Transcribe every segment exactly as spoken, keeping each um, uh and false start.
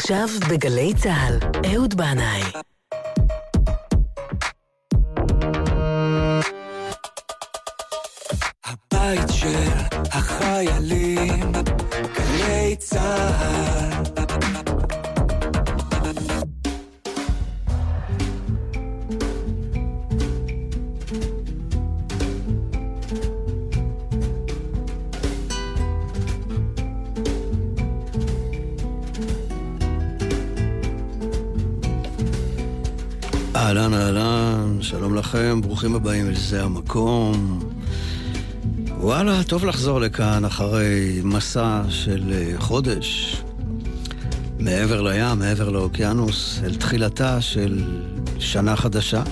עכשיו בגלי צהל, אהוד בנאי. הבית של החיילים, גלי צהל. אהלן אהלן, שלום לכם, ברוכים הבאים אל זה המקום. וואלה, טוב לחזור לכאן אחרי מסע של חודש מעבר לים, מעבר לאוקיינוס, אל תחילתה של שנה חדשה.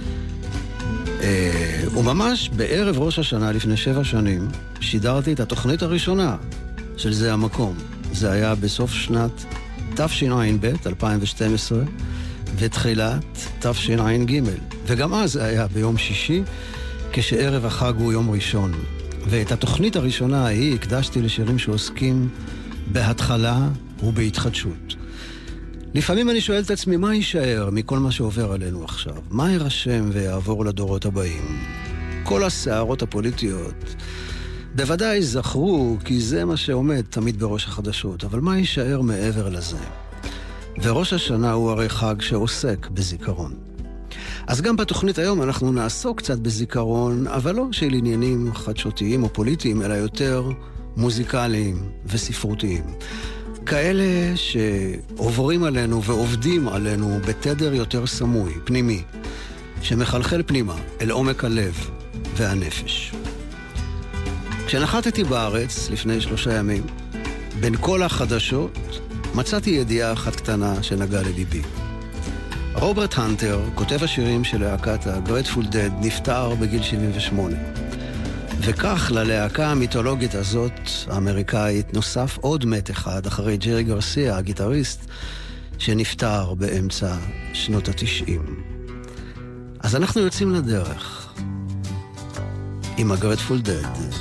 וממש בערב ראש השנה לפני שבע שנים שידרתי את התוכנית הראשונה של זה המקום. זה היה בסוף שנת תשע"ב, אלפיים ושתים עשרה, ותחילת תשע"ג, וגם אז זה היה ביום שישי, כשערב החג הוא יום ראשון. ואת התוכנית הראשונה ההיא הקדשתי לשירים שעוסקים בהתחלה ובהתחדשות. לפעמים אני שואל את עצמי, מה יישאר מכל מה שעובר עלינו עכשיו? מה יירשם ויעבור לדורות הבאים? כל הסערות הפוליטיות בוודאי זכרו, כי זה מה שעומד תמיד בראש החדשות, אבל מה יישאר מעבר לזה? וראש השנה הוא הרי חג שעוסק בזיכרון. אז גם בתוכנית היום אנחנו נעסוק קצת בזיכרון, אבל לא של עניינים חדשותיים או פוליטיים, אלא יותר מוזיקליים וספרותיים. כאלה שעוברים עלינו ועובדים עלינו בתדר יותר סמוי, פנימי, שמחלחל פנימה אל עומק הלב והנפש. כשנחתתי בארץ לפני שלושה ימים, בין כל החדשות, מצאתי ידיעה אחת קטנה שנגעה לליבי. רוברט הנטר, כותב השירים של להקת הגרייטפול דד, נפטר בגיל שבעים ושמונה. וכך ללהקה המיתולוגית הזאת, האמריקאית, נוסף עוד מת אחד אחרי ג'רי גרסיה, הגיטריסט, שנפטר באמצע שנות התשעים. אז אנחנו יוצאים לדרך עם הגרייטפול דד,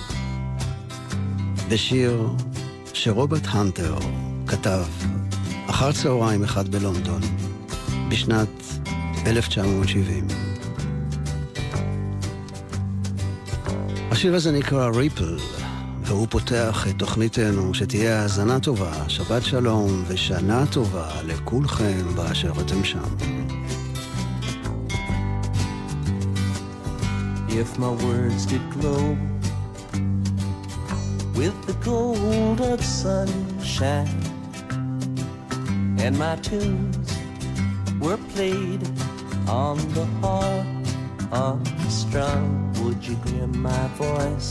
בשיר שרוברט הנטר כתב אחר צהריים אחד בלונדון בשנת אלף תשע מאות שבעים. השיר הזה נקרא ריפל, והוא פותח את תוכניתנו. שתהיה האזנה טובה, שבת שלום ושנה טובה לכולכם באשר אתם שם. If my words did glow with the gold of sunshine, and my tunes were played on the harp unstrung, would you hear my voice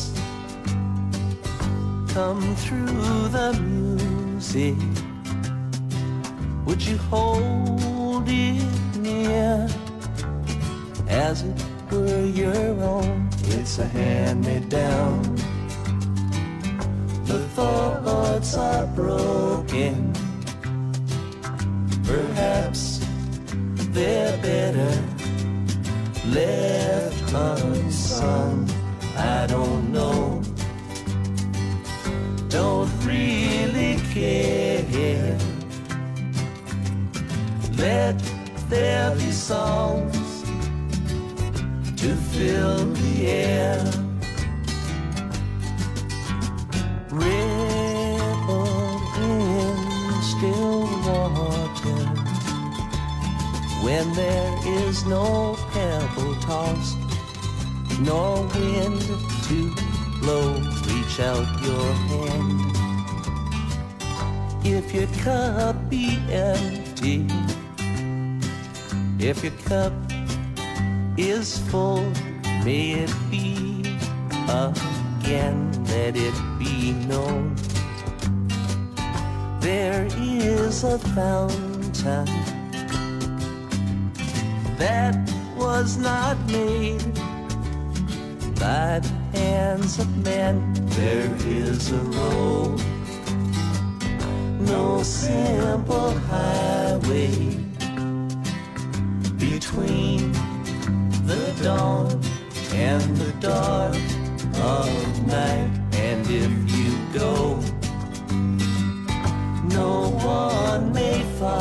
come through the music? Would you hold it near as it were your own? It's a hand-me-down. The thoughts are broken, perhaps they're better left unsung. I don't know, don't really care. Let there be songs to fill the air. Ripple in still water when there is no pebble tossed, nor wind to blow. Reach out your hand. If your cup be empty, if your cup is full, may it be again. Let it be known there is a fountain that was not made by the hands of men. There is a road, no simple highway between the dawn and the dark of night. And if you go, no one may find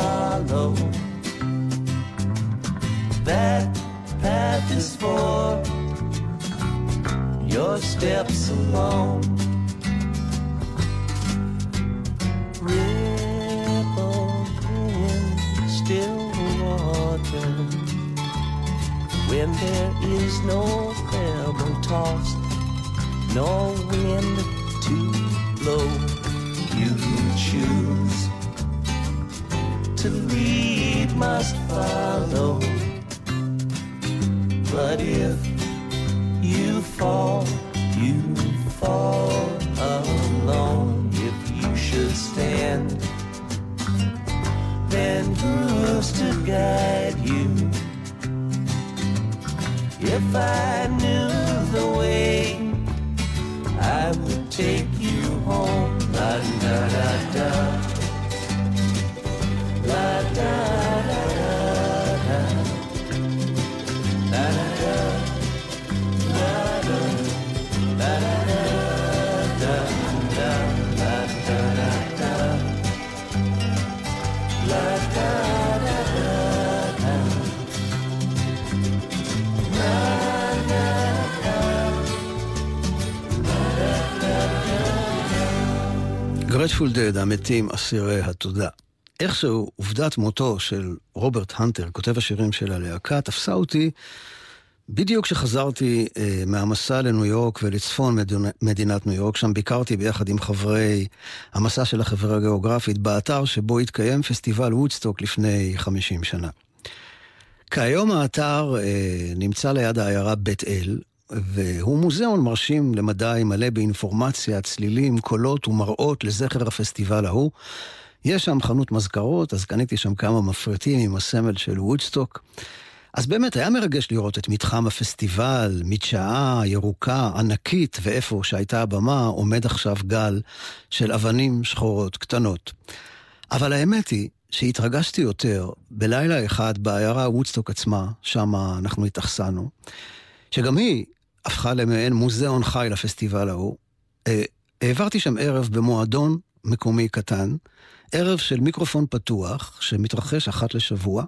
that path is for your steps alone. Ripple in still water when there is no pebble tossed, no wind to blow. You choose to lead, must follow. But if you fall, you fall alone. If you should stand, then who's to guide you? If I knew the way, I would take you home. La da da da, la da da da da, la da da, la da, la da da da da, la da da da, la da da da da, la da da. גרייטפול דד, המתים אסירי התודה. איכשהו עובדת מותו של רוברט הנטר, כותב השירים של הלהקה, תפסה אותי בדיוק כשחזרתי אה, מהמסע לניו יורק ולצפון מדינה, מדינת ניו יורק. שם ביקרתי ביחד עם חברי המסע של החברה הגיאוגרפית באתר שבו התקיים פסטיבל וודסטוק לפני חמישים שנה. כיום האתר אה, נמצא ליד העיירה בית אל, והוא מוזיאון מרשים למדי, מלא באינפורמציה, צלילים, קולות ומראות לזכר הפסטיבל ההוא. יש שם חנות מזכרות, אז קניתי שם כמה מפרטים עם הסמל של וודסטוק. אז באמת היה מרגש לראות את מתחם הפסטיבל, מדשאה ירוקה, ענקית, ואיפה שהייתה הבמה עומד עכשיו גל של אבנים שחורות קטנות. אבל האמת היא שהתרגשתי יותר בלילה אחד בעיירה וודסטוק עצמה, שם אנחנו התאכסנו, שגם היא הפכה למעין מוזיאון חי לפסטיבל ההוא. העברתי שם ערב במועדון מקומי קטן, ערב של מיקרופון פתוח שמתרחש אחת לשבוע.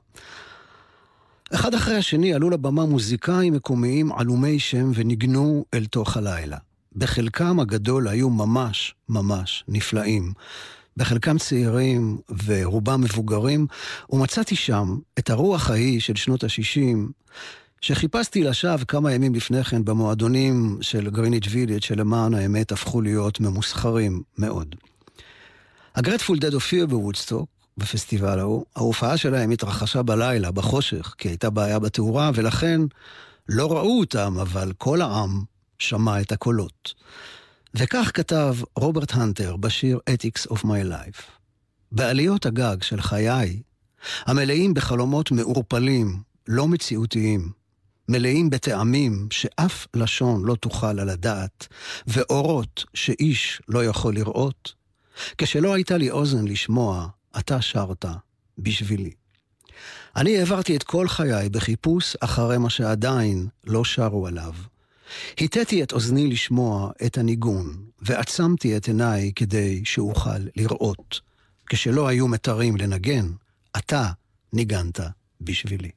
אחד אחרי השני עלו לבמה מוזיקאים מקומיים עלומי שם וניגנו אל תוך הלילה. בחלקם הגדול היו ממש ממש נפלאים, בחלקם צעירים ורובם מבוגרים, ומצאתי שם את הרוח ההיא של שנות ה-שישים, שחיפשתי לשווא כמה ימים לפני כן במועדונים של גריניץ' וילג' שלמען האמת הפכו להיות ממוסחרים מאוד. הגרייטפול דד הופיע בוודסטוק, בפסטיבל ההוא. ההופעה שלהם התרחשה בלילה, בחושך, כי הייתה בעיה בתאורה, ולכן לא ראו אותם, אבל כל העם שמע את הקולות. וכך כתב רוברט הנטר בשיר Ethics of My Life. בעליות הגג של חיי, המלאים בחלומות מעורפלים, לא מציאותיים, מלאים בטעמים שאף לשון לא תוכל על הדעת, ואורות שאיש לא יכול לראות, כשלא הייתה לי אוזן לשמוע, אתה שרת בשבילי. אני העברתי את כל חיי בחיפוש אחרי מה שעדיין לא שרו עליו. היתתי את אוזני לשמוע את הניגון, ועצמתי את עיניי כדי שאוכל לראות. כשלא היו מתרים לנגן, אתה ניגנת בשבילי.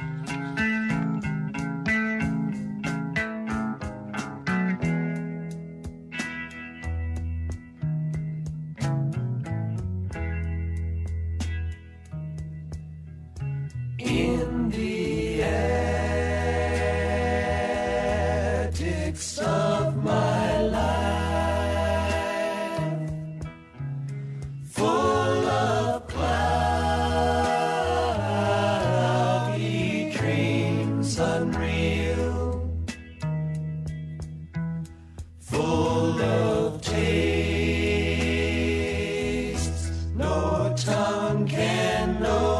In the attics of my life, full of cloudy dreams unreal, full of tastes no tongue can know.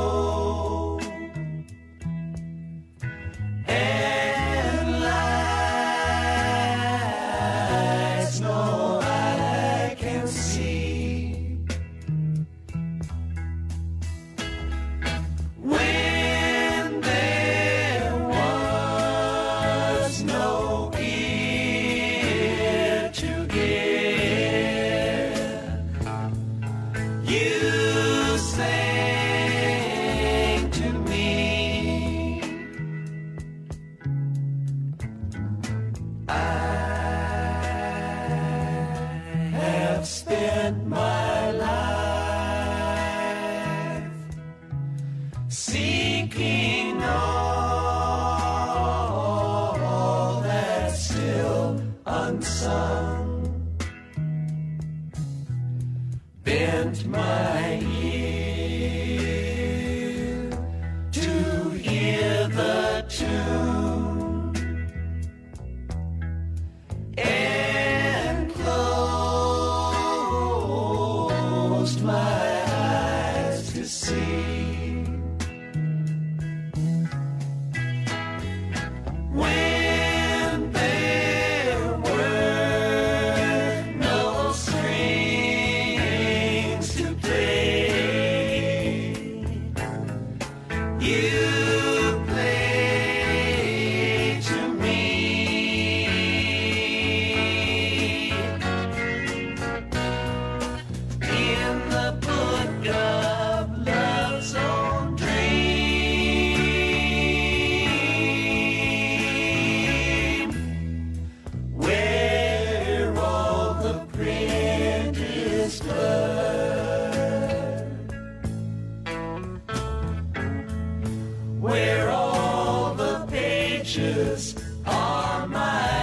You say seeking all that's still unsung. Bent my ear to hear the tune and closed my eyes to see. When there were no strings to play, you played to me. In the book of love's own dream, where all the print is blurred, where all the pages are my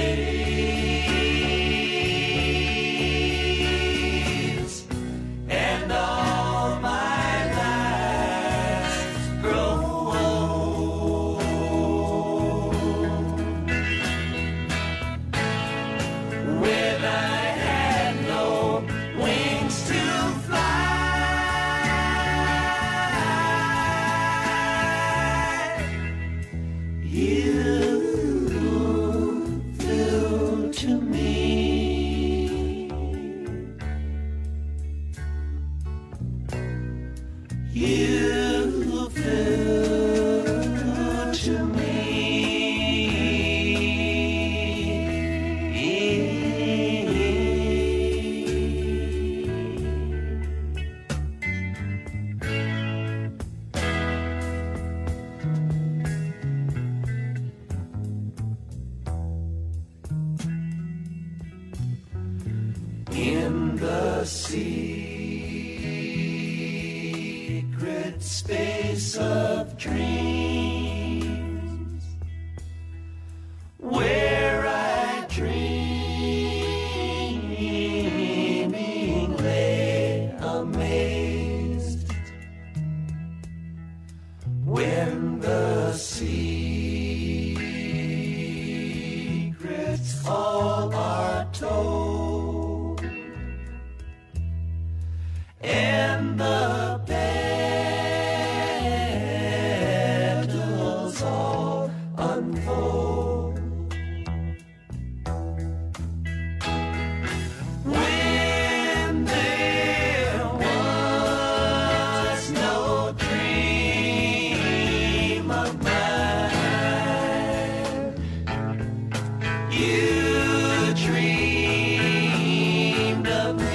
days, and all my lives grow old. When I had no wings to fly, you flew to me. You flew to me. In the secret space of dreams, where I dreaming lay amazed, when the secrets all are told, and the petals all unfold. When there was no dream of mine, you dreamed of me.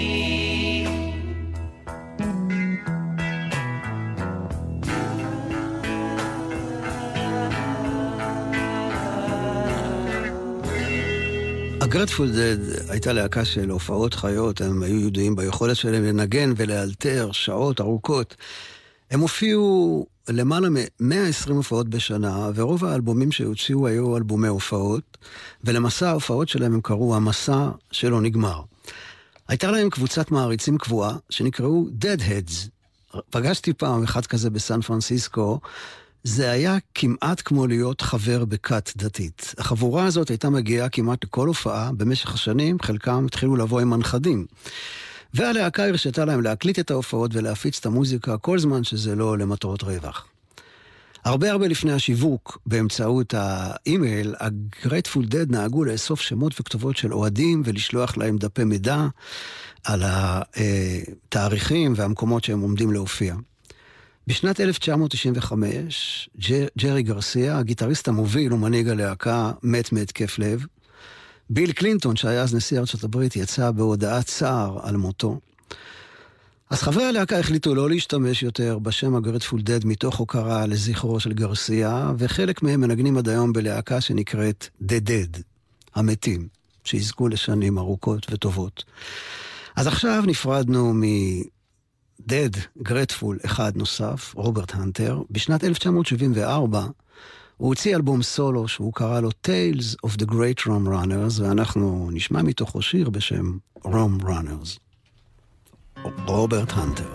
הגרטפול דד הייתה להקה של הופעות חיות, הם היו ידועים ביכולת שלהם לנגן ולאלתר שעות ארוכות. הם הופיעו למעלה מ-מאה ועשרים הופעות בשנה, ורוב האלבומים שהוציאו היו אלבומי הופעות, ולמסע ההופעות שלהם הם קראו המסע שלא נגמר. הייתה להם קבוצת מעריצים קבועה שנקראו Deadheads. פגשתי פעם אחד כזה בסן פרנסיסקו, זה היה כמעט כמו להיות חבר בכת דתית. החבורה הזאת הייתה מגיעה כמעט לכל הופעה במשך השנים, חלקם התחילו לבוא עם מנחדים. והלהקה הרשתה להם להקליט את ההופעות ולהפיץ את המוזיקה כל זמן שזה לא למטרות רווח. הרבה הרבה לפני השיווק, באמצעות האימייל, הגרייטפול דד נהגו לאסוף שמות וכתובות של אוהדים ולשלוח להם דפי מידע על התאריכים והמקומות שהם עומדים להופיע. בשנת אלף תשע מאות תשעים וחמש, ג'רי גרסיה, הגיטריסט המוביל ומנהיג הלהקה, מת מהתקף לב. ביל קלינטון, שהיה אז נשיא ארצות הברית, יצא בהודעת צער על מותו. אז חברי הלהקה החליטו לא להשתמש יותר בשם הגרייטפול דד מתוך הוקרה לזכרו של גרסיה, וחלק מהם מנגנים עד היום בלהקה שנקראת The Dead, המתים, שיזכו לשנים ארוכות וטובות. אז עכשיו נפרדנו מ... דד, גרטפול, אחד נוסף, רוברט הנטר. בשנת אלף תשע מאות שבעים וארבע הוא הוציא אלבום סולו שהוא קרא לו Tales of the Great Rum Runners, ואנחנו נשמע מתוכו שיר בשם Rum Runners. רוברט הנטר.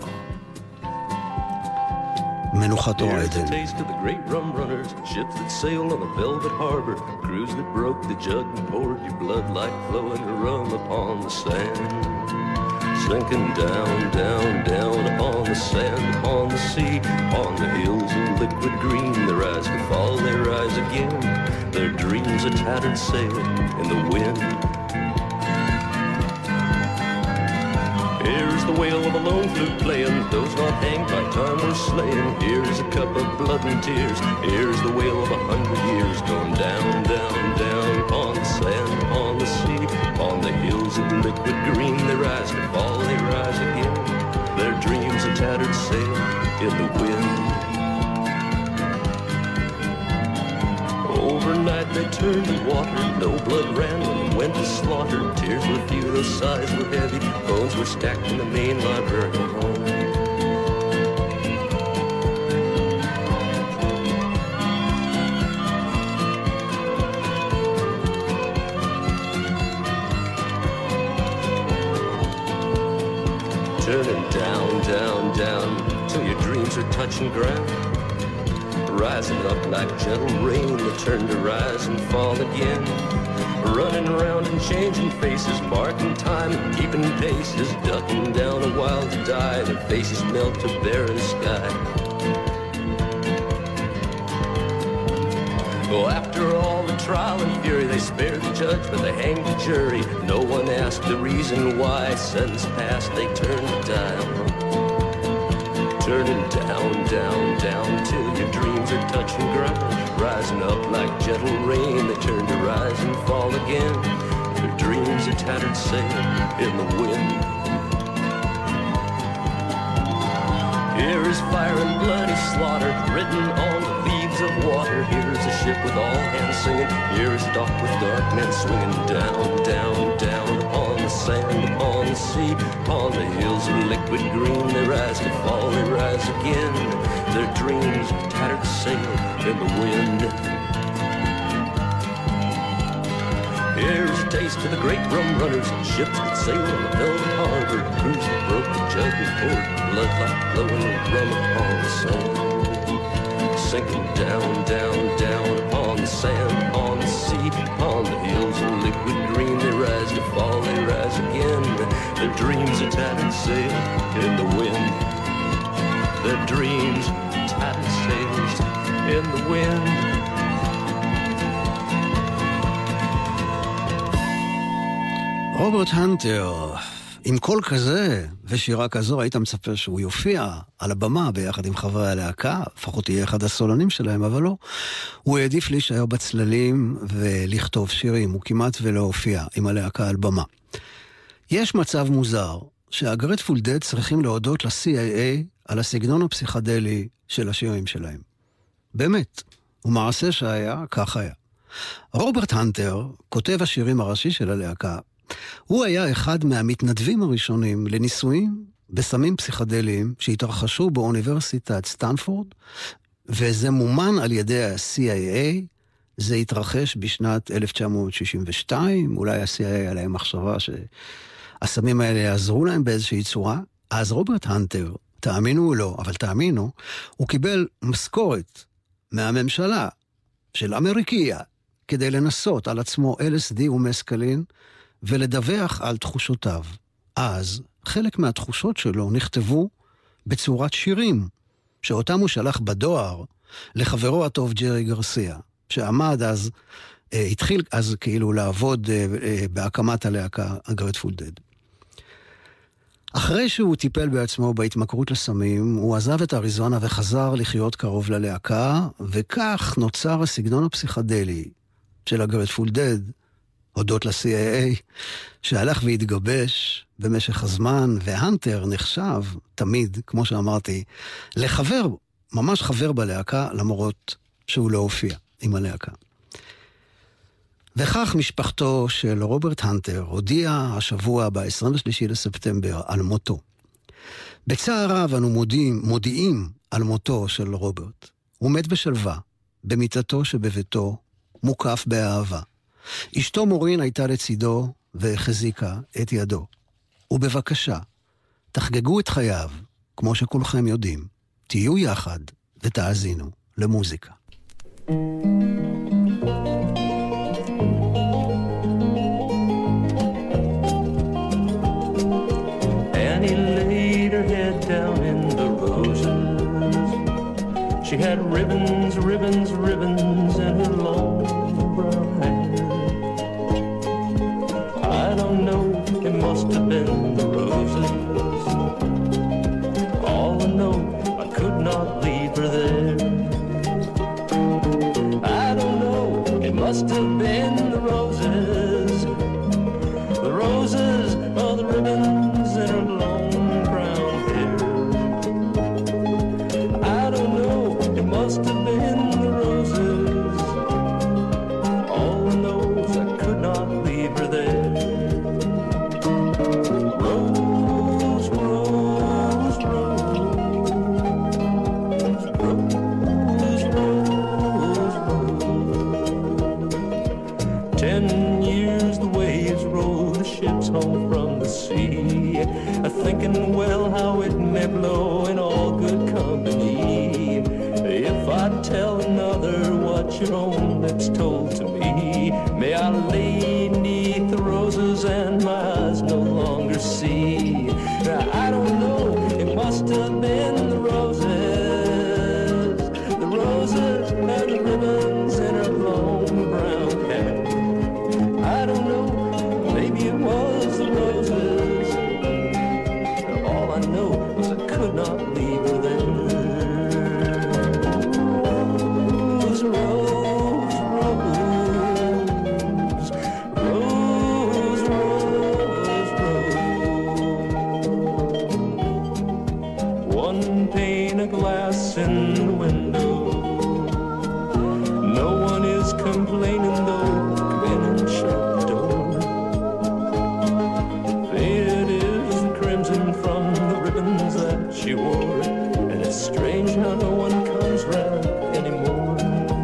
מנוחתו עדן. Here's the taste of the great rum runners, ships that sail on a velvet harbor, crews that broke the jug and poured your blood like flowing rum upon the sand. Sinking down, down, down upon the sand, upon the sea, on the hills of liquid green, they rise to fall, they rise again, their dreams a tattered sail in the wind. Here's the wail of a lone flute playing, those not hanged by time were slain. Here's a cup of blood and tears, here's the wail of a hundred years, going down, down, down upon the sand, upon the sea, on the hills of liquid green, they rise to fall, they rise again, their dreams a tattered sail in the wind. Overnight they turned to water, no blood ran when it went to slaughter. Tears were few, those sighs were heavy, bones were stacked in the main library home. Turning down, down, down, till your dreams are touching ground. Rising up like gentle rain that turn to rise and fall again. Running around and changing faces, marking time and keeping paces, ducking down a while to die, their faces melt to barren sky. Oh, after all the trial and fury, they spared the judge, but they hanged the jury. No one asked the reason why. Sentence passed, they turned to dial. Turning down, down, down, till your dreams are touching ground. Rising up like gentle rain, they turn to rise and fall again. Their dreams are tattered sail in the wind. Here is fire and bloody slaughter, written on the leaves of water. Here is a ship with all hands singing. Here is a dock with dark men swinging. Down, down, down upon the sand, upon the sea, upon the hills of liquid green, they rise to fall, they rise again. Their dreams of tattered sail in the wind. Here's a taste of the great rum runners, ships that sail on the velvet harbor, crews that broke the jug and poured blood like flowing rum upon the sand. Sinking down, down, down upon the sand, upon the sea, upon the hills of liquid green, they rise to fall, they rise again. Their dreams are tattered sail in the wind. Their dreams tattered sails in the wind. רוברט הנטר, עם קול כזה ושירה כזו, היית מצפה שהוא יופיע על הבמה ביחד עם חברי הלהקה, לפחות יהיה אחד הסולנים שלהם, אבל לא. הוא העדיף להישאר בצללים ולכתוב שירים, הוא כמעט ולא הופיע עם הלהקה על במה. יש מצב מוזר שהגרטפול דד צריכים להודות ל-סי איי איי על הסגנון הפסיכדלי של השירים שלהם. באמת, ומעשה שהיה, כך היה. רוברט הנטר, כותב השירים הראשי של הלהקה, הוא היה אחד מהמתנדבים הראשונים לניסויים בסמים פסיכדליים שהתרחשו באוניברסיטת סטנפורד, וזה מומן על ידי ה-סי איי איי. זה התרחש בשנת אלף תשע מאות שישים ושתיים, אולי ה-סי איי איי עליהם מחשבה שהסמים האלה יעזרו להם באיזושהי צורה. אז רוברט הנטר, תאמינו או לא, אבל תאמינו, הוא קיבל משכורת מהממשלה של אמריקיה כדי לנסות על עצמו אל אס די ומסקלין ולדווח על תחושותיו. אז חלק מהתחושות שלו נכתבו בצורת שירים, שאותם הוא שלח בדואר לחברו הטוב ג'רי גרסיה, שעמד אז, אה, התחיל אז כאילו לעבוד אה, אה, בהקמת הלהקה הגרטפול דד. אחרי שהוא טיפל בעצמו בהתמכרות לסמים, הוא עזב את אריזונה וחזר לחיות קרוב ללהקה, וכך נוצר הסגנון הפסיכדלי של הגרטפול דד, הודות ל-סי איי איי, שהלך והתגבש במשך הזמן, והנטר נחשב תמיד, כמו שאמרתי, לחבר, ממש חבר בלהקה, למרות שהוא לא הופיע עם הלהקה. וכך משפחתו של רוברט הנטר הודיעה השבוע ב-עשרים ושלושה לספטמבר על מותו. בצער רב אנו מודיעים, מודיעים על מותו של רוברט. הוא מת בשלווה, במיטתו שבביתו, מוקף באהבה. אשתו מורין הייתה לצידו והחזיקה את ידו. ובבקשה, תחגגו את חייו, כמו שכולכם יודעים. תהיו יחד ותאזינו למוזיקה. Annie laid her head down in the roses. She had ribbons, ribbons, ribbons in her long brown hair. I don't know, it must have been the roses. All I know, I could not leave her there. I don't know, it must have been the roses. The roses are the ribbons in her long brown hair. I don't know, it must have been the roses. All I know is I could not leave her there. Rose, rose, rose, rose, rose, rose. Ten years the waves roll the ships home from the sea, a thinking well how it may blow in all good company. If I tell another what your own lips told to me, may I lay neath the roses and my eyes no longer see. Now, I don't know, it must have been the roses, the roses and the ribbons in her long brown hair. I don't know, maybe it was the roses. All I know was I could not leave her there. Rose, rose, rose, rose, rose, rose. One pane of glass in the window. No one is complaining though, in and shut the door. It is the crimson from the ribbons that she wore, and it's strange how no one comes round anymore.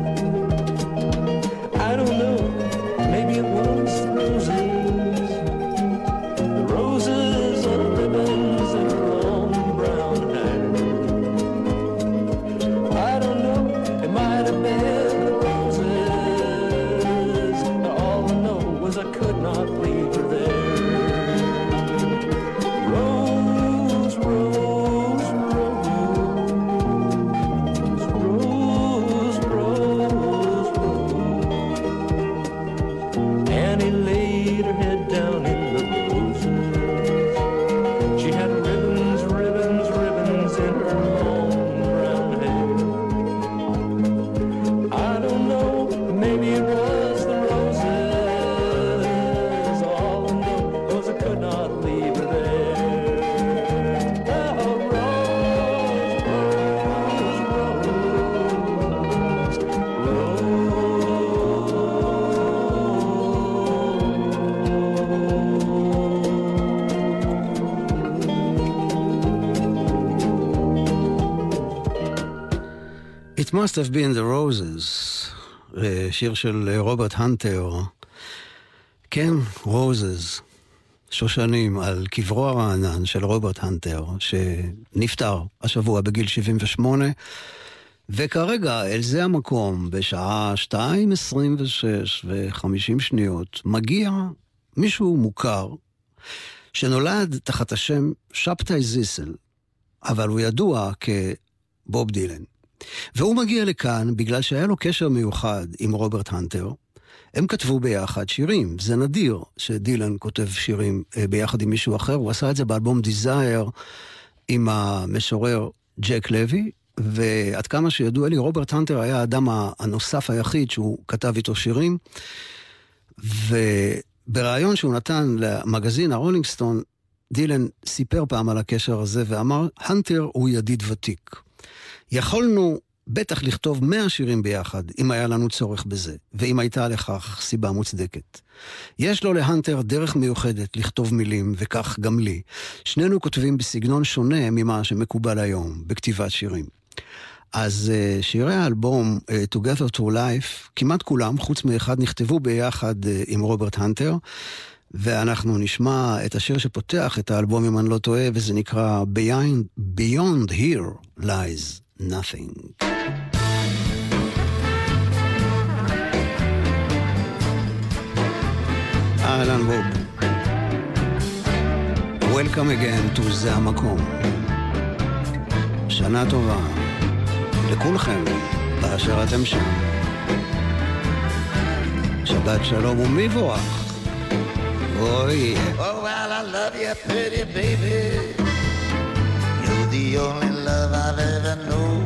I don't know, maybe it was the roses, the roses are the ribbons in her long brown hair. I don't know, it might have been the roses. All I know was I could not leave her there. Rose, rose, rose, rose, rose, rose. Annie laid her head down in the roses. She had ribbons, ribbons, ribbons in her long brown hair. I don't know, maybe it was the roses. All I know was I could not leave her there. Oh, rose, rose, rose, It must have been the roses, שיר של רוברט הנטר. כן, roses, שושנים, על קברו הרענן של רוברט הנטר, שנפטר השבוע בגיל שבעים ושמונה, וכרגע אל זה המקום, בשעה שתיים עשרים ושש וחמישים שניות, מגיע מישהו מוכר, שנולד תחת השם שבתאי זיסל, אבל הוא ידוע כבוב דילן. והוא מגיע לכאן בגלל שהיה לו קשר מיוחד עם רוברט הנטר. הם כתבו ביחד שירים. זה נדיר שדילן כותב שירים ביחד עם מישהו אחר. הוא עשה את זה באלבום Desire עם המשורר ג'ק לוי, ועד כמה שידוע לי, רוברט הנטר היה האדם הנוסף היחיד שהוא כתב איתו שירים. ובראיון שהוא נתן למגזין הרולינג סטון, דילן סיפר פעם על הקשר הזה ואמר, הנטר הוא ידיד ותיק. יכולנו בטח לכתוב מאה שירים ביחד, אם היה לנו צורך בזה, ואם הייתה לכך סיבה מוצדקת. יש לו להנטר דרך מיוחדת לכתוב מילים, וכך גם לי. שנינו כותבים בסגנון שונה ממה שמקובל היום, בכתיבת שירים. אז שירי האלבום Together to Life, כמעט כולם, חוץ מאחד, נכתבו ביחד עם רוברט הנטר, ואנחנו נשמע את השיר שפותח את האלבום, אם אני לא טועה, וזה נקרא Beyond, Beyond Here Lies Nothing. אהלן בוב. Welcome again to זה המקום. שנה טובה לכולכם באשר אתם שם. שבת שלום ומבורך. Oh yeah. Oh well, I love you, pretty baby. You're the only love I've ever known.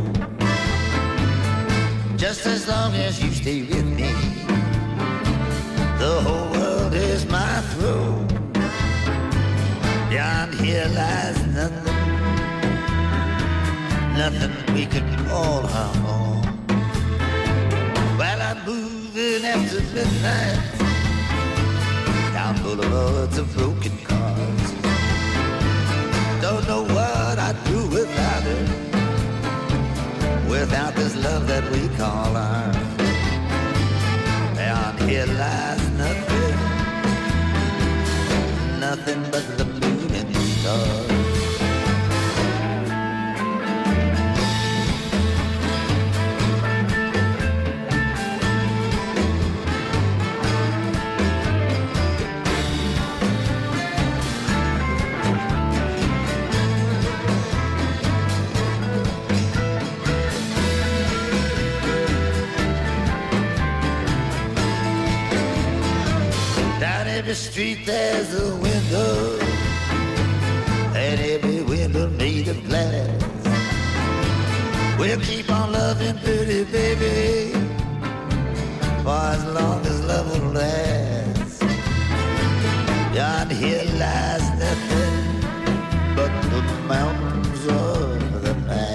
Just as long as you stay with me, the whole world is my throne. Beyond here lies nothing, nothing we could call our own. Well, I'm moving after midnight down boulevards of broken cars. Don't know what I'd do without it, without this love that we call ours. Beyond here lies nothing, nothing but the moon and the stars. Every street there's a window, and every window made of glass. We'll keep on loving pretty baby for as long as love will last. Beyond here lies nothing but the mountains of the past.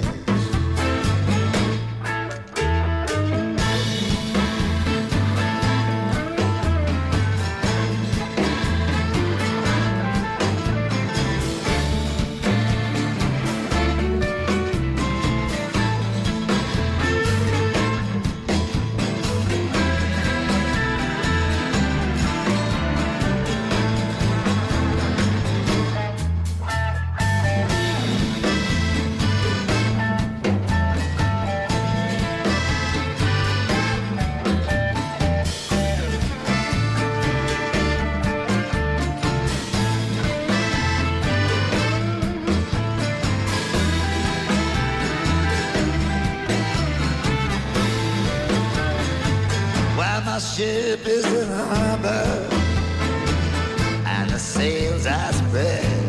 Ship is in harbor and the sails are spread.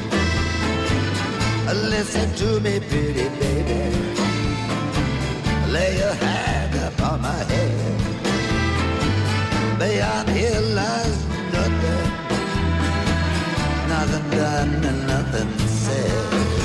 Listen to me, pretty baby. Lay your hand upon my head. Beyond here lies nothing, nothing done and nothing said.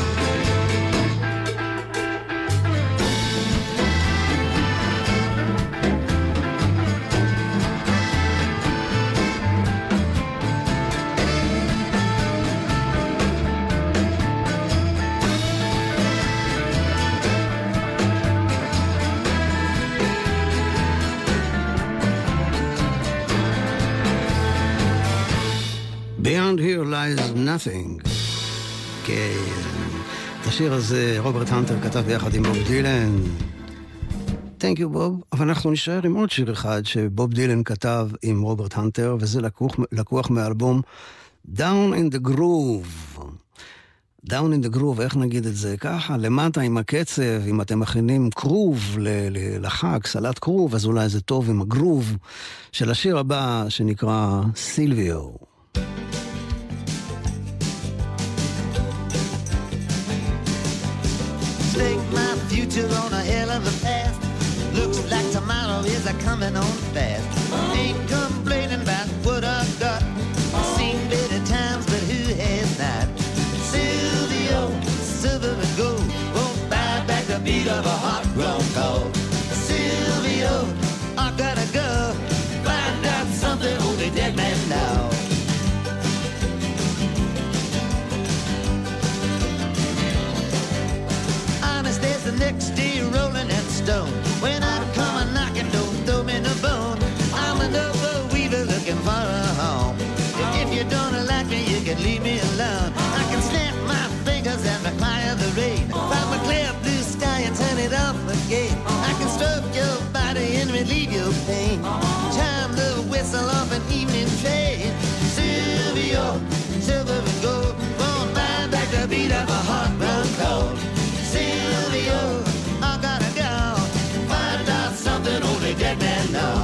Beyond here lies nothing. כן. את השיר הזה רוברט הנטר כתב ביחד עם בוב דילן. Thank you בוב. אבל אנחנו נשאר עם עוד שיר אחד שבוב דילן כתב עם רוברט הנטר, וזה לקוח, לקוח מאלבום Down in the Groove. Down in the Groove, איך נגיד את זה? ככה, למטה עם הקצב, אם אתם מכינים קרוב לחג, סלט קרוב, אז אולי זה טוב עם הגרוב של השיר הבא שנקרא סילביו. Take my future on a hell of a path. Looks like tomorrow is a coming on fast. Ain't complaining about what I've got. Seen better times, but who has not? Silvio, silver and gold, won't buy back the beat of a hot drum called Silvio. I gotta go find out something on the dead man now. Honest as the next day rolling and stone. When I come a knocking, don't throw me no bone. I'm an overweaver looking for a home. If you don't like me, you can leave me alone. I can snap my fingers and require the rain. Find a clear blue sky and turn it off again. I can stroke your body and relieve your pain. Chime the whistle off an evening train. Silvio, silver and gold, won't buy back the beat of a hot brown cold. Silvio, I gotta go find out something only dead men know.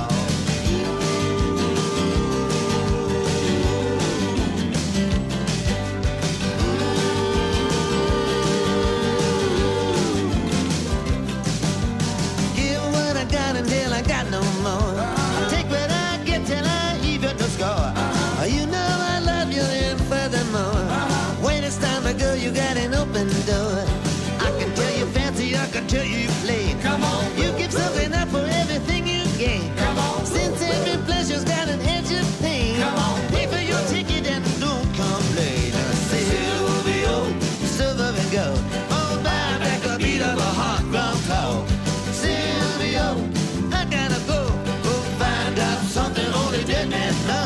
Until I got no more. I take what I get till I even no score. You know I love you and furthermore. When it's time to go, you got an open door. I can tell you fancy, I can tell you plain. Come on, you give something up for everything you gain. Come on, since every pleasure's got an edge of pain. Come on, pay for your ticket and don't complain. Silvio, silver and gold, oh, buy back a beat of a hot drum call. Silvio, I gotta go, go find out something only dead men know.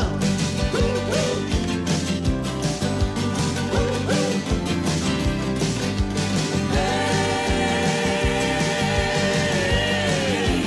Hey.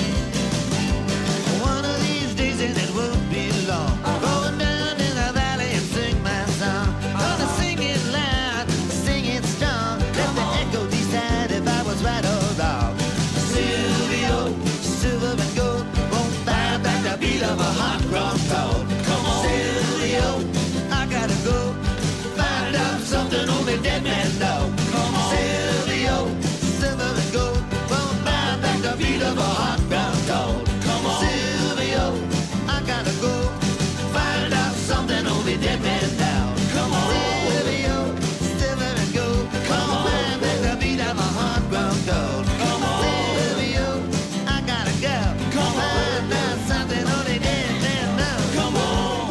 One of these days and it won't be long, going down in the valley and sing my song. Gonna sing it loud, sing it strong, let the echo decide if I was right or wrong. Silvio, silver and gold, won't buy back the beat of a hot drum cold. Come on, Silvio, I gotta go find out something only dead men know. Come on, Silvio, silver and gold, won't buy back the beat of a hot drum cold. Come on, Silvio, I gotta go find out something only dead men know. Come on, Silvio, silver and gold, come on, buy back the beat of a hot drum cold. Come on, Silvio, I gotta go. Come on, find out something only dead men know. Come on,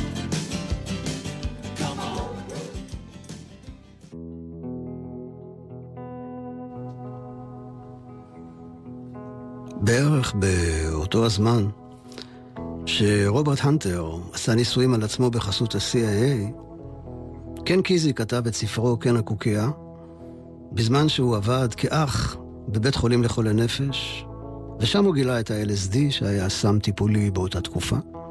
come on. בערך באותו הזמן שרוברט הנטר עשה ניסויים על עצמו בחסות ה-סי איי איי, קן קיזי כתב את ספרו קן הקוקייה, בזמן שהוא עבד כאח בבית חולים לחולי נפש, ושם הוא גילה את ה-אל אס די שהיה סם טיפולי באותה תקופה.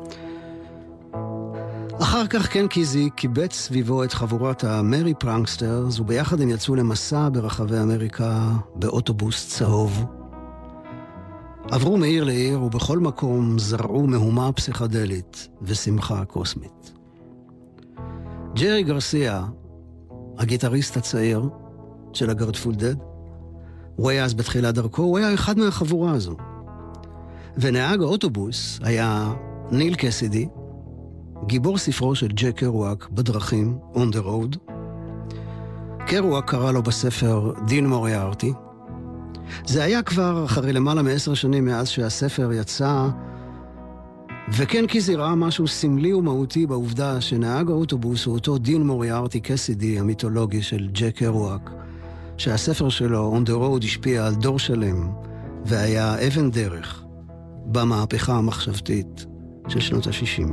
אחר כך קן קיזי קיבץ סביבו את חבורת המרי פרנקסטרס, וביחד הם יצאו למסע ברחבי אמריקה באוטובוס צהוב. עברו מעיר לעיר ובכל מקום זרעו מהומה פסיכדלית ושמחה קוסמית. ג'רי גרסיה, הגיטריסט הצעיר של הגרטפול דד, הוא היה אז בתחילת דרכו, הוא היה אחד מהחבורה הזו. ונהג האוטובוס היה ניל קסידי, גיבור ספרו של ג'ק קרואק בדרכים, On the Road. קרואק קרא לו בספר דין מוריארטי. זה היה כבר אחרי למעלה מעשר שנים מאז שהספר יצא, וכן קיזי ראה משהו סמלי ומהותי בעובדה שנהג האוטובוס הוא אותו דין מוריארטי קסידי המיתולוגי של ג'ק קרואק, שהספר שלו On the Road השפיע על דור שלם והיה אבן דרך במהפכה המחשבתית של שנות ה-שישים.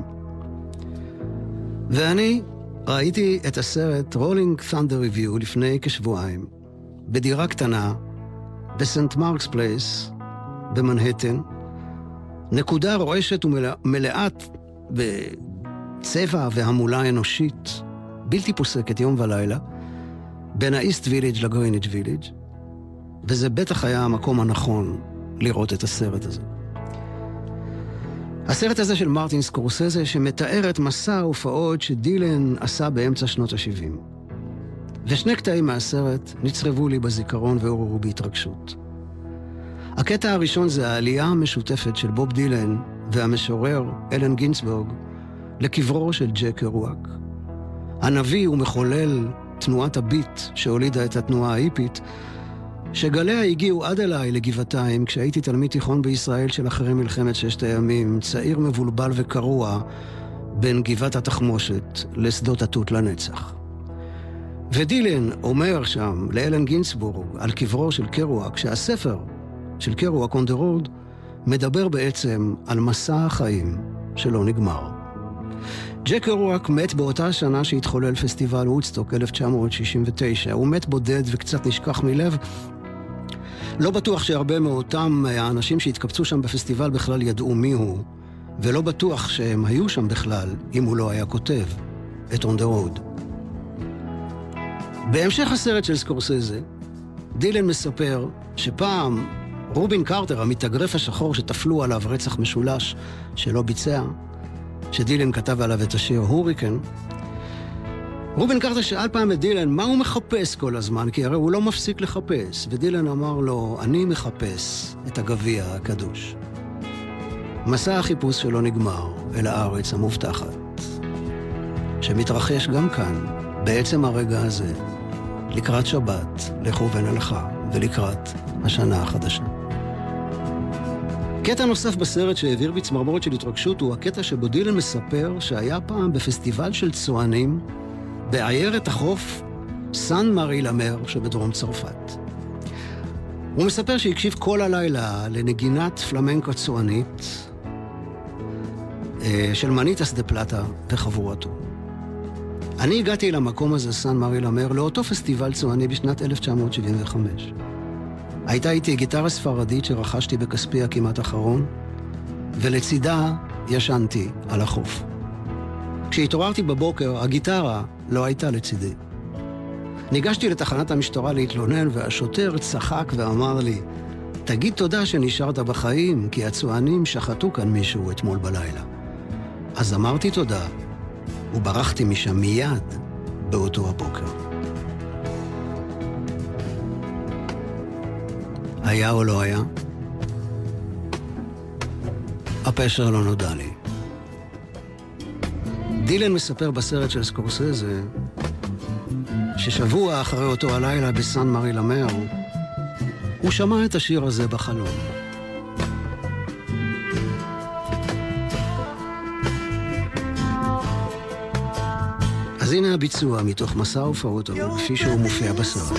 ואני ראיתי את הסרט Rolling Thunder Review לפני כשבועיים בדירה קטנה בסנט מרקס פלייס במנהטן, נקודה רועשת ומלאת בצבע והמולה אנושית בלתי פוסקת יום ולילה בין האיסט ויליג' לגריניג' ויליג', וזה בטח היה המקום הנכון לראות את הסרט הזה. הסרט הזה של מרטין סקורסזה שמתאר את מסע ההופעות שדילן עשה באמצע שנות ה-שבעים. ושני קטעים מהסרט נצרבו לי בזיכרון ועוררו בהתרגשות. הקטע הראשון זה העלייה המשותפת של בוב דילן והמשורר אלן גינסבורג לקברו של ג'ק קרואק. הנביא ומחולל תנועת הביט שהולידה את התנועה ההיפית, שגליה הגיעו עד אליי לגבעתיים כשהייתי תלמיד תיכון בישראל של אחרי מלחמת ששת הימים, צעיר מבולבל וקרוע בין גבעת התחמושת לשדות התות לנצח. ודילן אומר שם לאלן גינסבורג על קברו של קרואק, שהספר של קרואק on the road מדבר בעצם על מסע החיים שלא נגמר. ג'ק קרואק מת באותה שנה שהתחולל פסטיבל וודסטוק אלף תשע מאות שישים ותשע. הוא מת בודד וקצת נשכח מלב. לא בטוח שהרבה מאותם האנשים שהתקבצו שם בפסטיבל בכלל ידעו מי הוא, ולא בטוח שהם היו שם בכלל אם הוא לא היה כותב את On the Road. בהמשך הסרט של סקורסזה, דילן מספר שפעם רובין קרטר, המתאגרף השחור שתפלו עליו רצח משולש שלא ביצע, שדילן כתב עליו את השיר הוריקן, רובין קרטר שאל פעם את דילן מה הוא מחפש כל הזמן, כי הרי הוא לא מפסיק לחפש, ודילן אמר לו, אני מחפש את הגביע הקדוש. מסע החיפוש שלא נגמר אל הארץ המובטחת, שמתרחש גם כאן, בעצם הרגע הזה, לקראת שבת, לכו ונלכה, ולקראת השנה החדשה. קטע נוסף בסרט שהעביר בי צמרמורת של התרגשות הוא הקטע שבו דילן מספר שהיה פעם בפסטיבל של צוענים בעיירת החוף סן מארי למר שבדרום צרפת. הוא מספר שהקשיב כל הלילה לנגינת פלמנקו צוענית של מניטס דה פלטה וחבורתו. אני הגעתי למקום הזה, סן מארי למר, לאותו פסטיבל צועני בשנת אלף תשע מאות שבעים וחמש. הייתה איתי גיטרה ספרדית שרכשתי בכספי הכמעט אחרון, ולצידה ישנתי על החוף. כשהתעוררתי בבוקר, הגיטרה לא הייתה לצידי. ניגשתי לתחנת המשטרה להתלונן, והשוטר צחק ואמר לי, תגיד תודה שנשארת בחיים, כי הצוענים שחטו כאן מישהו אתמול בלילה. אז אמרתי תודה, וברחתי משם מיד באותו הבוקר. היה או לא היה? הפשר לא נודע לי. דילן מספר בסרט של סקורסזה ששבוע אחרי אותו הלילה בסן מארי למר הוא שמע את השיר הזה בחלום. אז הנה הביצוע מתוך מסע הופעותו כפי שהוא מופיע בסרט.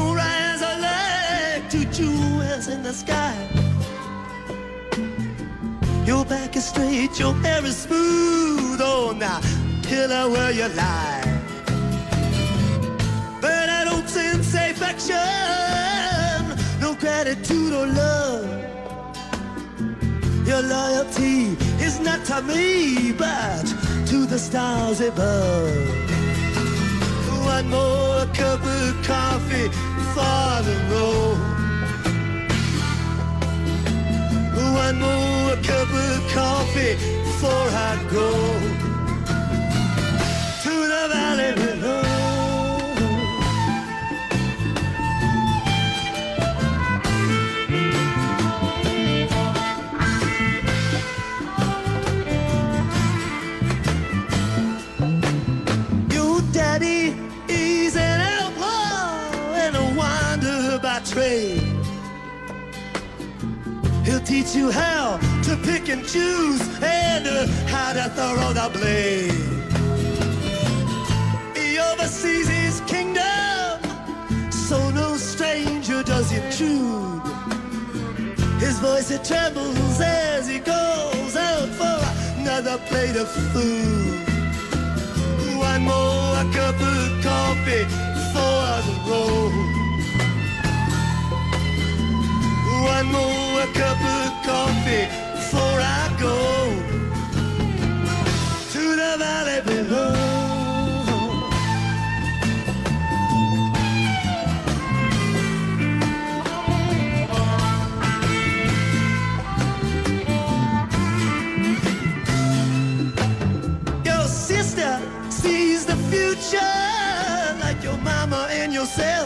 To jewels in the sky. Your back is straight, your hair is smooth. Oh, now, pillow where you lie. But I don't sense affection, no gratitude or love. Your loyalty is not to me, but to the stars above. One more cup of coffee for the road. One more cup of coffee before I go to the valley below. Your daddy is an outlaw and a wanderer by trade. He'll teach you how to pick and choose and uh, how to throw the blade. He oversees his kingdom, so no stranger does intrude. His voice it trembles as he goes out for another plate of food. One more cup of coffee for the road. One more cup of coffee before I go to the valley below. Your sister sees the future like your mama and yourself.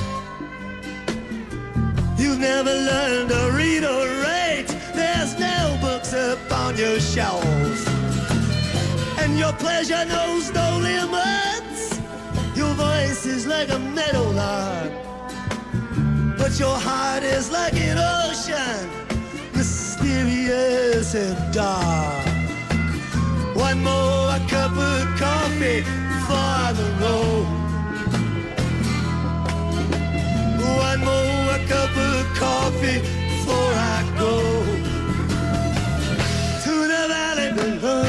You've never learned to read or write. There's no books up on your shelf. And your pleasure knows no limits. Your voice is like a meadowlark, but your heart is like an ocean, mysterious and dark. One more cup of coffee for the road. One more cup of coffee before I go to the valley below.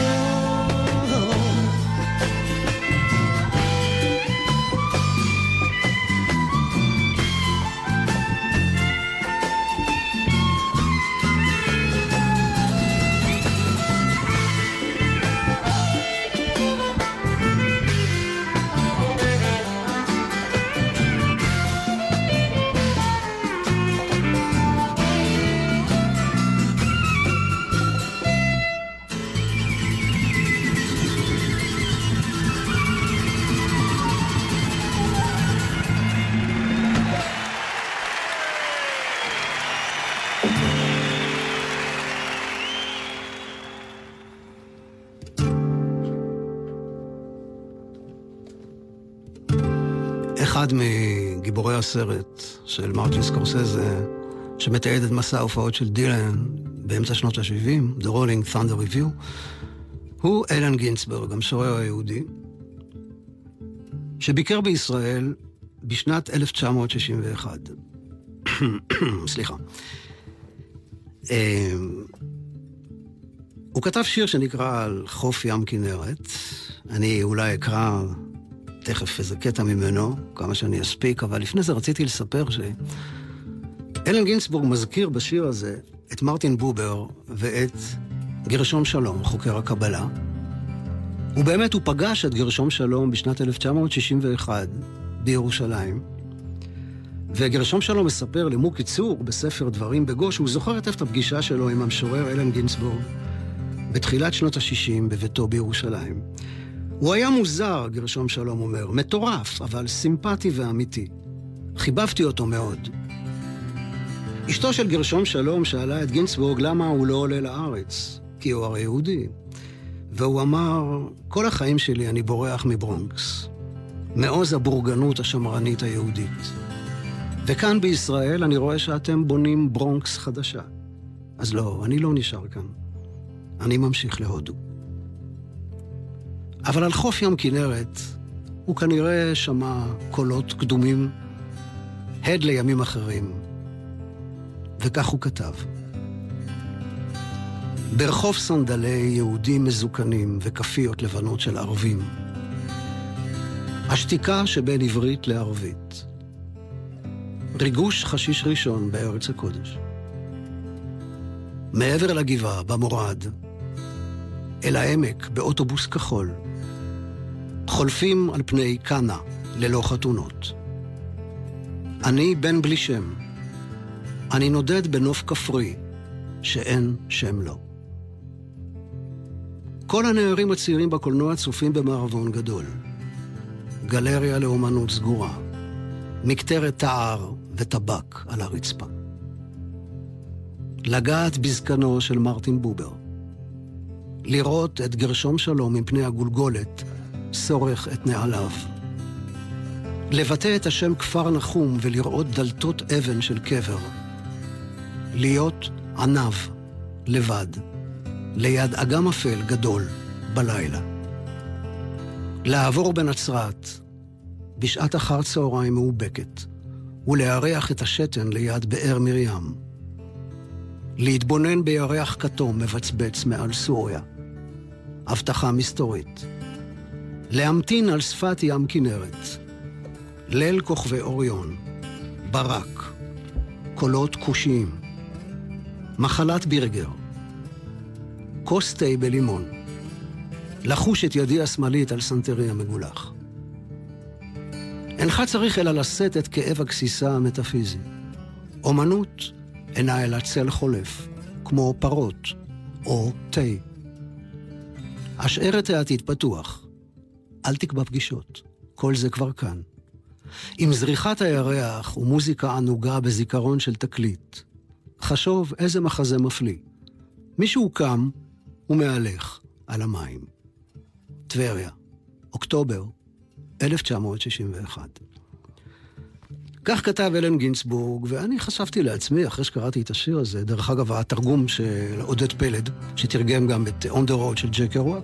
אחד מגיבורי הסרט של מרטין סקורסזה, שמתעד את מסע ההופעות של דילן באמצע שנות ה-שבעים, The Rolling Thunder Review, הוא אלן גינסברג, המשורר היהודי, שביקר בישראל בשנת אלף תשע מאות שישים ואחת. סליחה. הוא כתב שיר שנקרא על חוף ים כנרת. אני אולי אקרא תכף איזה קטע ממנו, כמה שאני אספיק, אבל לפני זה רציתי לספר שאלן גינסבורג מזכיר בשיר הזה את מרטין בובר ואת גרשום שלום, חוקר הקבלה. ובאמת הוא פגש את גרשום שלום בשנת אלף תשע מאות שישים ואחת בירושלים. וגרשום שלום מספר למוקי צור בספר דברים בגוש, הוא זוכר היטב את הפגישה שלו עם המשורר אלן גינסבורג בתחילת שנות ה-שישים בביתו בירושלים. הוא היה מוזר, גרשום שלום אומר, מטורף, אבל סימפטי ואמיתי. חיבבתי אותו מאוד. אשתו של גרשום שלום שאלה את גינסבורג למה הוא לא עולה לארץ, כי הוא הרי יהודי. והוא אמר, כל החיים שלי אני בורח מברונקס, מעוז הבורגנות השמרנית היהודית. וכאן בישראל אני רואה שאתם בונים ברונקס חדשה. אז לא, אני לא נשאר כאן. אני ממשיך להודו. אבל על חוף ים כנרת הוא כנראה שמע קולות קדומים, הד לימים אחרים. וכך הוא כתב. ברחוב סנדלי יהודים מזוקנים וכפיות לבנות של ערבים. השתיקה שבין עברית לערבית. ריגוש חשיש ראשון בארץ הקודש. מעבר לגבעה, במורד, אל העמק באוטובוס כחול, חולפים על פני קנה ללא חתונות. אני בן בלי שם. אני נודד בנוף כפרי שאין שם לו. כל הנערים הצעירים בקולנוע צופים במערבון גדול. גלריה לאומנות סגורה. מקטרת תער וטבק על הרצפה. לגעת בזקנו של מרטין בובר. לראות את גרשום שלום מפני הגולגולת, סורך את נעליו. לבטא את השם כפר נחום ולראות דלתות אבן של קבר. להיות ענב, לבד, ליד אגם אפל גדול בלילה. לעבור בנצרת, בשעת אחר צהריים מאובקת, ולהריח את השתן ליד באר מרים. להתבונן בירח כתום מבצבץ מעל סוריה. הבטחה מסתורית. להמתין על שפת ים כנרת. ליל כוכבי אוריון. ברק. קולות קושיים. מחלת בירגר. כוס תה בלימון. לחוש את ידי השמאלית על סנטרי המגולח. אינך צריך אלא לשאת את כאב הכסיסה המטאפיזי. אומנות אינה אלא צל חולף, כמו פרות או תה. השאר את העתיד פתוח. אל תקבע פגישות. כל זה כבר כאן. עם זריחת הירח ומוזיקה ענוגה בזיכרון של תקליט. חשוב איזה מחזה מפליא. מישהו קם ומהלך על המים. טבריה, אוקטובר אלף תשע מאות שישים ואחת. כך כתב אלן גינסבורג, ואני חשבתי לעצמי, אחרי שקראתי את השיר הזה, דרך אגב, התרגום של עודד פלד, שתרגם גם את On the Road של ג'ק קרואק.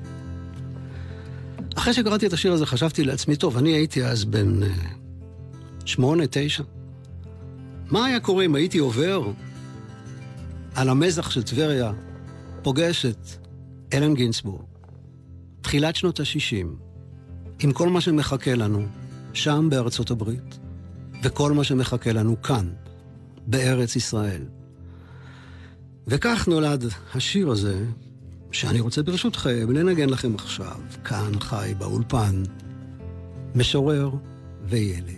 אחרי שקראתי את השיר הזה, חשבתי לעצמי, טוב, אני הייתי אז בן שמונה, תשע. מה היה קורה אם הייתי עובר על המזח של טבריה, פוגש את אלן גינסבורג, תחילת שנות ה-שישים, עם כל מה שמחכה לנו שם בארצות הברית, וכל מה שמחכה לנו כאן, בארץ ישראל. וכך נולד השיר הזה, שאני רוצה ברשותכם לנגן לכם עכשיו, כאן חי באולפן, משורר וילד.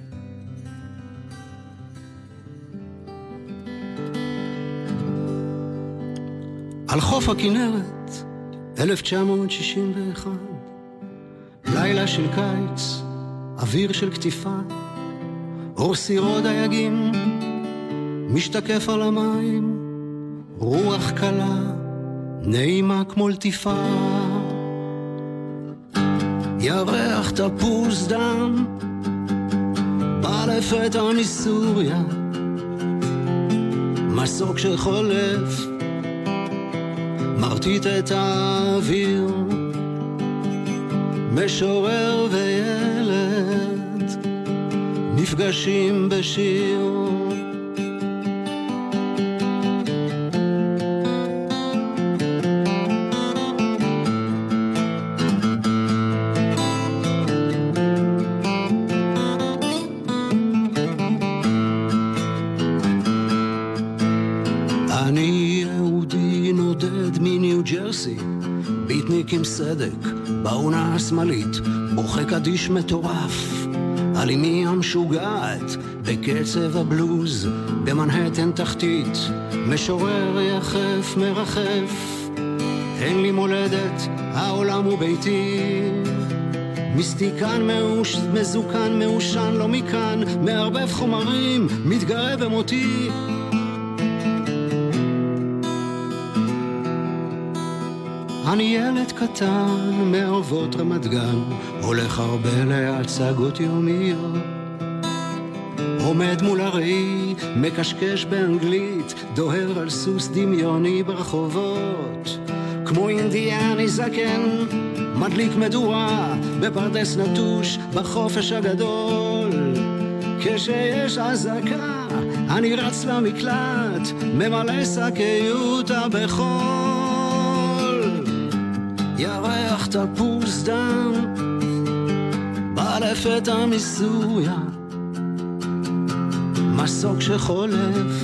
על חוף הכנרת, אלף תשע מאות שישים ואחת, לילה של קיץ, אוויר של כתיפה, אור סירות דייגים, משתקף על המים, רוח קלה, נעימה כמו לטיפה. ירח תפוס דם, בא לפתע מסוריה, מסוק שחולף, מרטיט את האוויר, משורר וילד נפגשים בשיר. אני יהודי נודד מניו ג'רסי, ביטניק עם סדק בעונה השמאלית, בוכה קדיש מטורף על אמי המשוגעת בקצב הבלוז במנהטן תחתית, משורר יחף מרחף, אין לי מולדת, העולם הוא ביתי, מיסטיקן מאוש, מזוקן מאושן לא מכאן, מערבב חומרים, מתגרה במותי. אני ילד קטן מערבות רמת גן, הולך הרבה להצגות יומיות, עומד מול הראי, מקשקש באנגלית, דוהר על סוס דמיוני ברחובות, כמו אינדיאני זקן, מדליק מדורה בפרדס נטוש בחופש הגדול. כשיש אזעקה אני רץ למקלט, ממלא שקיות בחול. ירח תפוס דם, בא לפתע מסוריה, מסוק שחולף,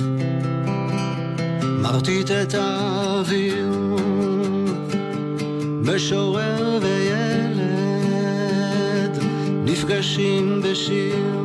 מרטיט את האוויר, משורר וילד נפגשים בשיר.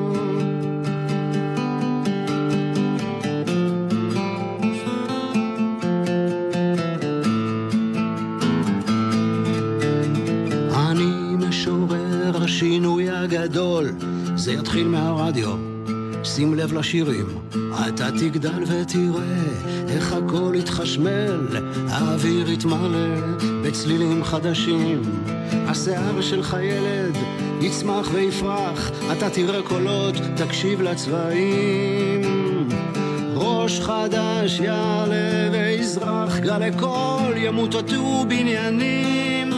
השינוי הגדול, זה יתחיל מהרדיו, שים לב לשירים, אתה תגדל ותראה איך הכל יתחשמל, האוויר יתמלא בצלילים חדשים, השיער שלך ילד יצמח ויפרח, אתה תראה קולות, תקשיב לצבעים, ראש חדש יעלה ויזרח, גלי קול ימוטטו בניינים.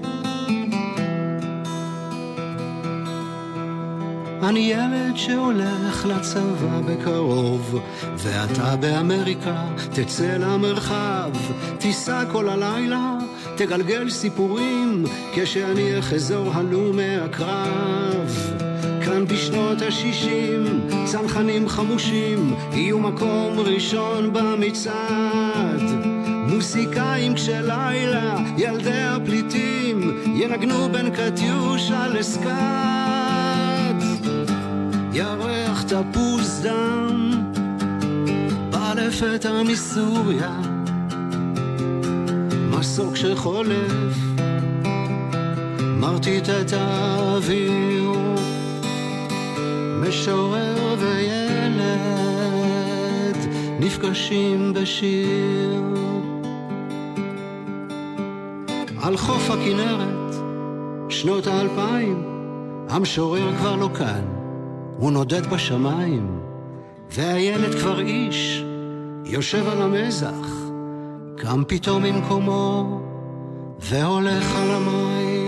אני ילד שהולך לצבא בקרוב, ואתה באמריקה תצא למרחב, תיסע כל הלילה, תגלגל סיפורים, כשאני אחזור הלום מהקרב. כאן בשנות השישים, צנחנים חמושים, יהיו מקום ראשון במצעד. מוסיקאים כשלילה, ילדי הפליטים, ינגנו בין קטיושה לסקאט. ירח תפוס דם, בא לפתע מסוריה, מסוק שחולף, מרטיט את האוויר, משורר וילד נפגשים בשיר. על חוף הכנרת, שנות האלפיים, המשורר כבר לא כאן, הוא נודד בשמיים, והילד כבר איש, יושב על המזח, קם פתאום ממקומו, והולך על המים.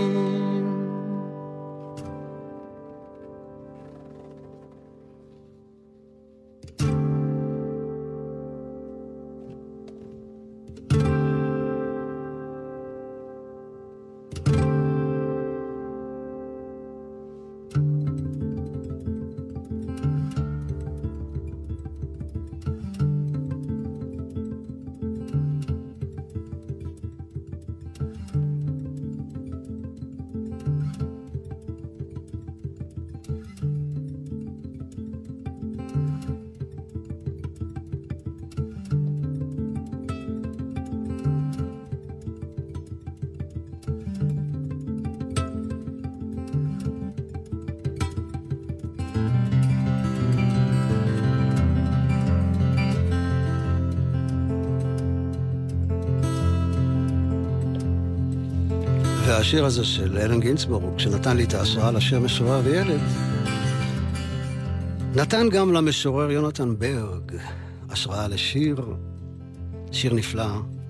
והשיר הזה של אלן גינצבורג, שנתן לי את ההשראה לשיר משורר וילד, נתן גם למשורר יונתן ברג השראה לשיר, שיר נפלא,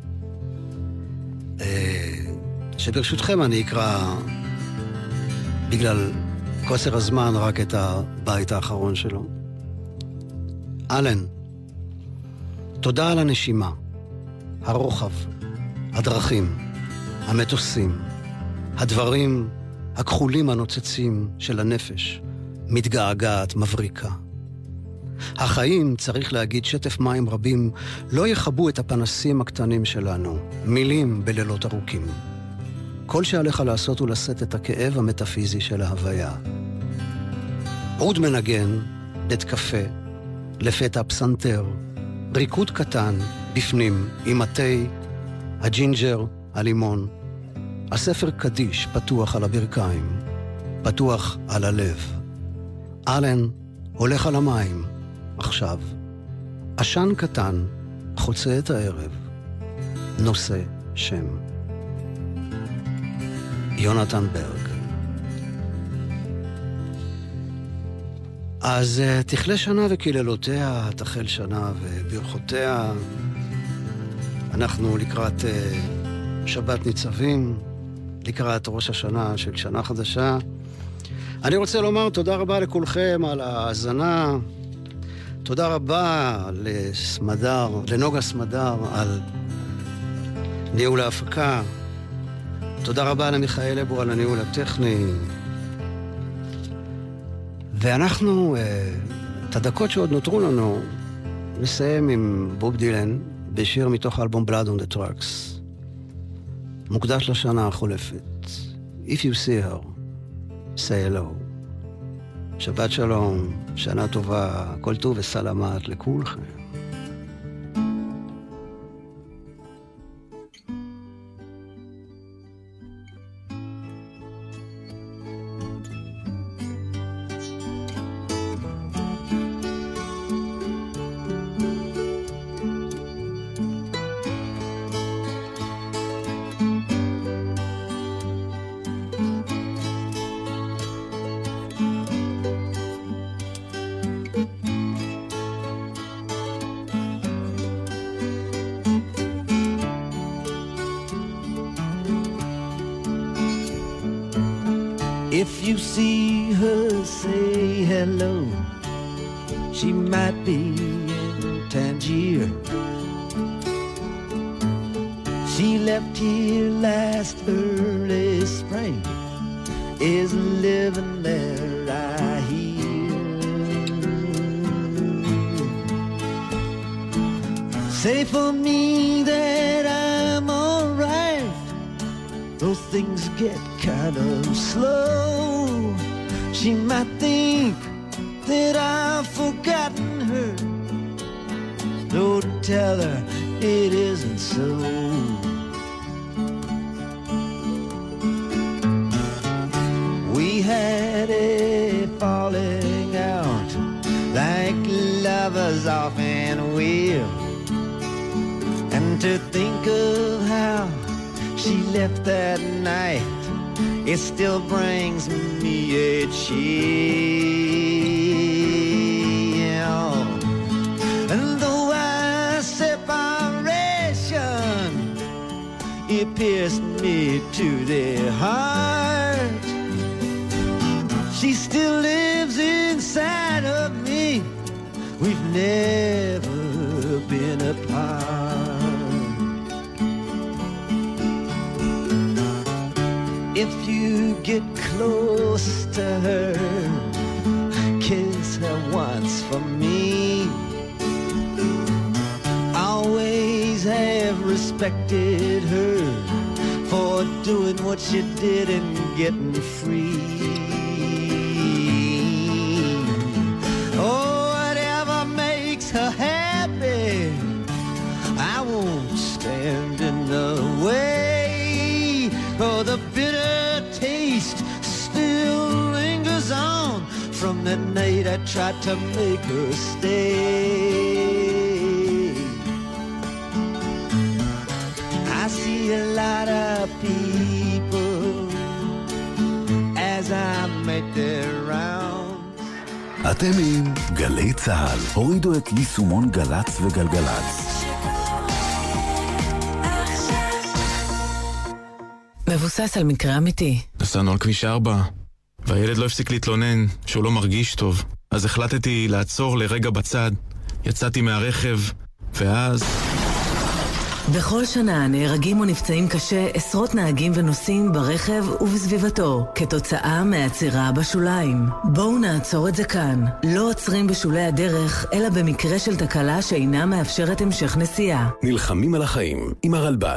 שברשותכם אני אקרא, בגלל קוצר הזמן, רק את הבית האחרון שלו. אלן, תודה על הנשימה, הרוחב, הדרכים, המטוסים, הדברים הכחולים הנוצצים של הנפש, מתגעגעת, מבריקה. החיים, צריך להגיד, שטף מים רבים, לא יחבו את הפנסים הקטנים שלנו, מילים בלילות ארוכים. כל שעליך לעשות הוא לשאת את הכאב המטאפיזי של ההוויה. עוד מנגן, בית קפה, לפתע פסנתר, ריקוד קטן, בפנים, עם התי, הג'ינג'ר, הלימון. הספר קדיש פתוח על הברכיים, פתוח על הלב. אלן הולך על המים, עכשיו. עשן קטן חוצה את הערב, נושא שם. יונתן ברג. אז תכלה שנה וקללותיה, תחל שנה וברכותיה. אנחנו לקראת שבת ניצבים, לקראת ראש השנה של שנה חדשה. אני רוצה לומר תודה רבה לכולכם על ההאזנה. תודה רבה לסמדר, לנוגה סמדר על ניהול ההפקה. תודה רבה למיכאל אבו על הניהול הטכני. ואנחנו, את הדקות שעוד נותרו לנו, נסיים עם בוב דילן בשיר מתוך האלבום Blood on the Tracks. מוקדש לשנה החולפת. If you see her, say hello. שבת שלום, שנה טובה, כל טוב וסלמת לכולכם. If you see her, say hello. She might be in Tangier. She left here last early spring, is living there, I hear. Say for me that I'm alright, though things get kind of slow. She might think that I've forgotten her, though to tell her it isn't so. We had a falling out like lovers often will, and to think of how she left that night, it still brings me a chill. pierced me to the heart. She still lives inside of me. We've never been apart. If you get close to her, kiss her once for me. Always have respected her for doing what she did and getting free. Oh, whatever makes her happy, I won't stand in the way. Oh, the bitter taste still lingers on from that night I tried to make her stay. I see a lot of people as I make their rounds. אתם עם גלי צהל. הורידו את יישומון גלץ וגלגלץ. מבוסס על מקרה אמיתי. נסענו על כביש ארבע, והילד לא הפסיק להתלונן שהוא לא מרגיש טוב. אז החלטתי לעצור לרגע בצד, יצאתי מהרכב, ואז... בכל שנה נהרגים או נפצעים קשה עשרות נהגים ונוסעים ברכב ובסביבתו, כתוצאה מהעצירה בשוליים. בואו נעצור את זה כאן. לא עוצרים בשולי הדרך, אלא במקרה של תקלה שאינה מאפשרת המשך נסיעה. נלחמים על החיים עם הרלב"ד.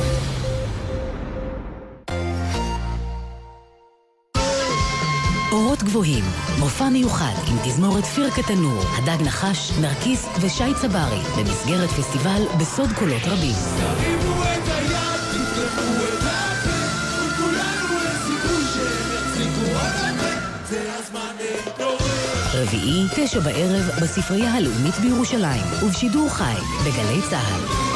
אורות גבוהים, מופע מיוחד עם תזמורת פירקה תנור, הדג נחש, נרקיס ושי צברי, במסגרת פסטיבל בסוד קולות רבים. תרימו את היד, תפתחו את הפה, וכולנו לסיכוי שהם יחזיקו עוד הרבה, זה הזמן להתעורר. רביעי, תשע בערב, בספרייה הלאומית בירושלים, ובשידור חי, בגלי צהל.